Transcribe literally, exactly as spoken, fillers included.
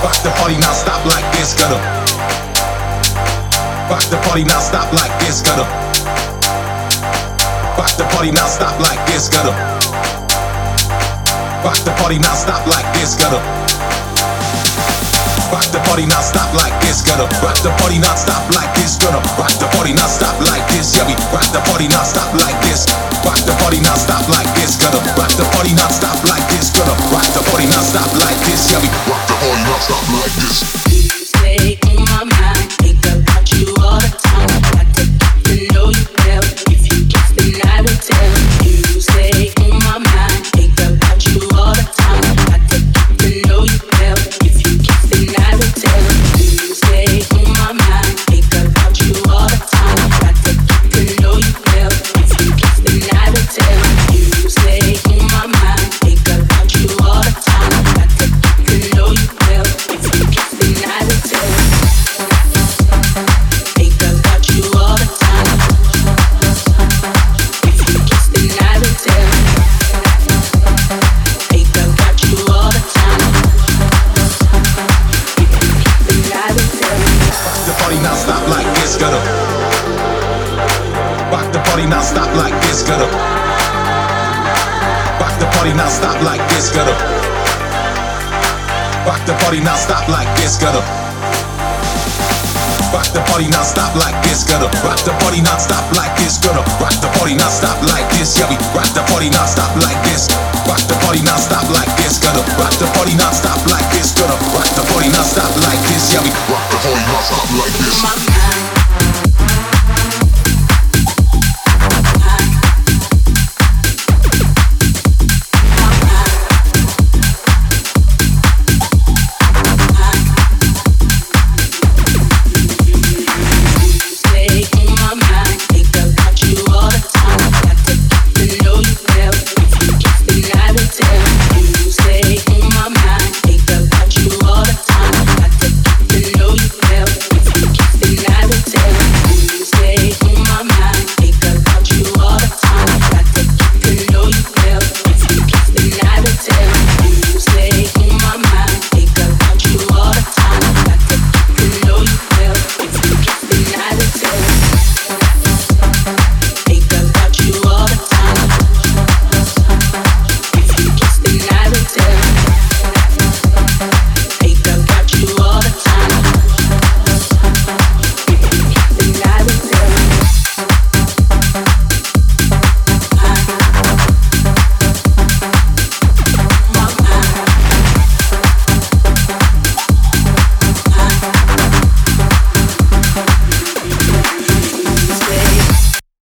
rock the party non-stop like this. Gonna rock the party non-stop like this. Gonna rock the party non-stop like this. Gonna rock the party non-stop like this. Gonna rock the party non-stop like this. Gonna rock the party non-stop like this. Gonna rock the party non-stop like this. Yeah, we rock the party non-stop like this. Rock the party non-stop like this. Gonna rock the party non-stop like this. Gonna rock the party non-stop like this. Yeah, we rock the party non-stop like this. You stay on my mind, think about you all the time. I take to know you well. If you guess, then I will tell. You stay on my mind, think about you all the time. I take to know you well. If you guess, then I will tell. You stay on my mind, think about you all the time. I take to know you well. If you guess, then I will tell. You stay on my mind, think about you all the time. I take to know you well. If you guess, then I will tell. Think about you all the time. If you guess, then I will tell. Think about you all the time. If you guess, then I will tell. Rock the party non-stop like this. Gonna rock the party non-stop like this. Gonna rock the party non-stop like this. Gonna rock the party non-stop like this. Gonna rock the party non-stop like this. Gonna rock the party non-stop like this. Gonna rock the party non-stop like this. Yeah, we rock the party non-stop like this. Rock the party non-stop like this. Gonna rock the party non-stop like this. Gonna rock the party non-stop like this. Yeah, we rock the party non-stop like this.